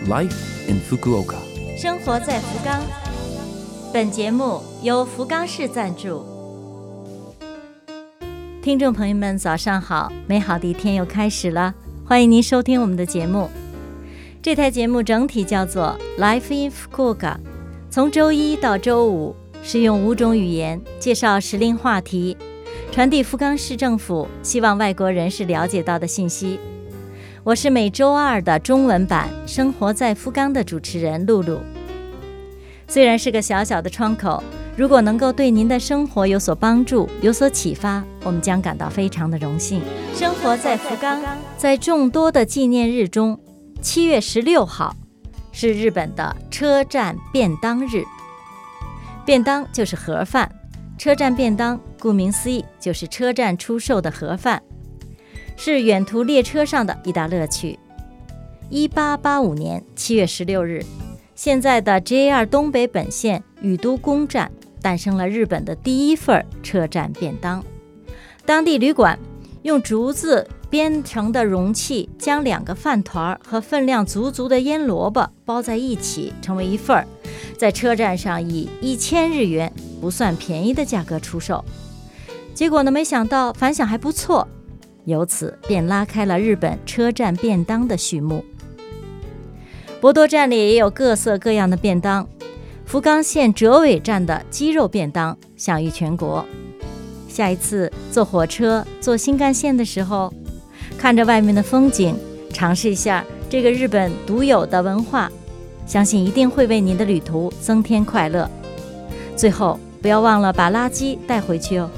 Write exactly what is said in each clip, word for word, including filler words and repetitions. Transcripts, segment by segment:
Life in Fukuoka， 生活在福冈。本节目由福冈市赞助。听众朋友们早上好，美好的一天又开始了，欢迎您收听我们的节目。这台节目整体叫做 Life in Fukuoka， 从周一到周五是用五种语言介绍时令话题，传递福冈市政府希望外国人士了解到的信息。我是每周二的中文版生活在福冈的主持人露露。虽然是个小小的窗口，如果能够对您的生活有所帮助，有所启发，我们将感到非常的荣幸。生活在福冈，在众多的纪念日中，七月十六号是日本的车站便当日。便当就是盒饭，车站便当顾名思义就是车站出售的盒饭，是远途列车上的一大乐趣。一八八五年七月十六日，现在的 J R 东北本线宇都宫站诞生了日本的第一份车站便当。当地旅馆用竹子编成的容器，将两个饭团和分量足足的腌萝卜包在一起，成为一份，在车站上以一千日元不算便宜的价格出售。结果呢，没想到反响还不错，由此便拉开了日本车站便当的序幕。博多站里也有各色各样的便当，福冈县折尾站的鸡肉便当享誉全国。下一次坐火车坐新干线的时候，看着外面的风景，尝试一下这个日本独有的文化，相信一定会为您的旅途增添快乐。最后不要忘了把垃圾带回去哦。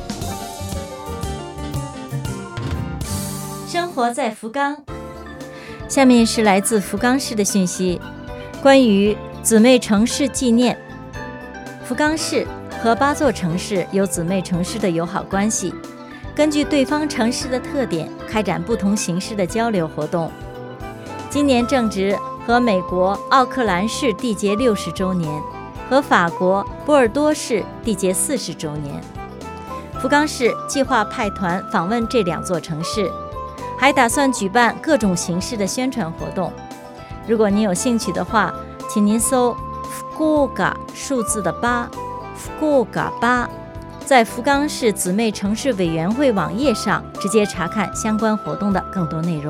生活在福冈，下面是来自福冈市的讯息，关于姊妹城市纪念。福冈市和八座城市有姊妹城市的友好关系，根据对方城市的特点开展不同形式的交流活动。今年正值和美国奥克兰市缔结六十周年，和法国波尔多市缔结四十周年。福冈市计划派团访问这两座城市，还打算举办各种形式的宣传活动。如果您有兴趣的话，请您搜福岡数字的八，福岡八，在福冈市姊妹城市委员会网页上直接查看相关活动的更多内容。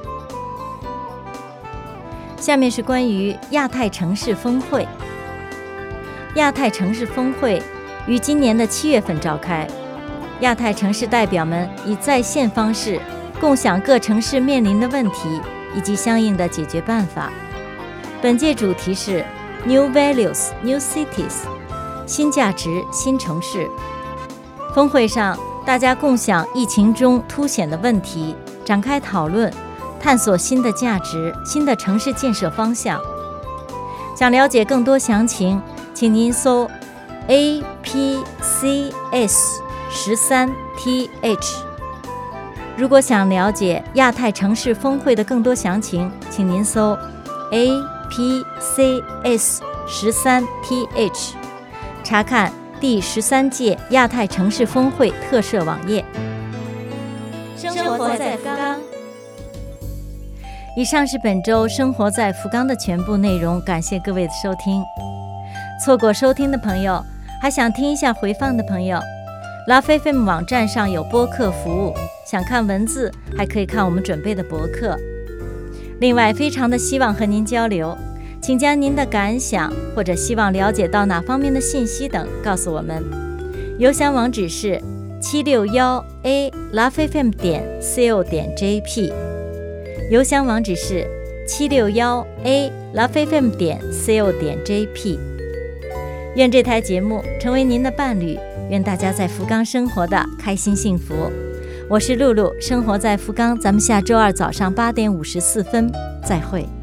下面是关于亚太城市峰会。亚太城市峰会于今年的七月份召开，亚太城市代表们以在线方式共享各城市面临的问题以及相应的解决办法。本届主题是 New Values, New Cities， 新价值新城市。峰会上，大家共享疫情中凸显的问题，展开讨论，探索新的价值、新的城市建设方向。想了解更多详情，请您搜 A P C S 十三 T H。如果想了解亚太城市峰会的更多详情，请您搜 A P C S 十三 T H， 查看第十三届亚太城市峰会特设网页。生活在福冈。以上是本周生活在福冈的全部内容，感谢各位的收听。错过收听的朋友，还想听一下回放的朋友， Love F M 网站上有播客服务，想看文字还可以看我们准备的博客。另外非常的希望和您交流，请将您的感想或者希望了解到哪方面的信息等告诉我们。邮箱网址是 七六一 A Love F M 点 co 点 J P， 邮箱网址是 七六一 A Love F M 点 co 点 J P。 愿这台节目成为您的伴侣，愿大家在福冈生活的开心幸福。我是露露，生活在福冈，咱们下周二早上八点五十四分再会。